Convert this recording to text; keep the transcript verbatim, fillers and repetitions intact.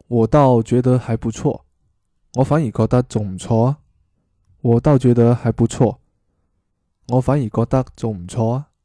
我倒觉得还不错。我反而覺得仲唔錯啊。我倒覺得還不錯。我反而覺得仲唔錯啊。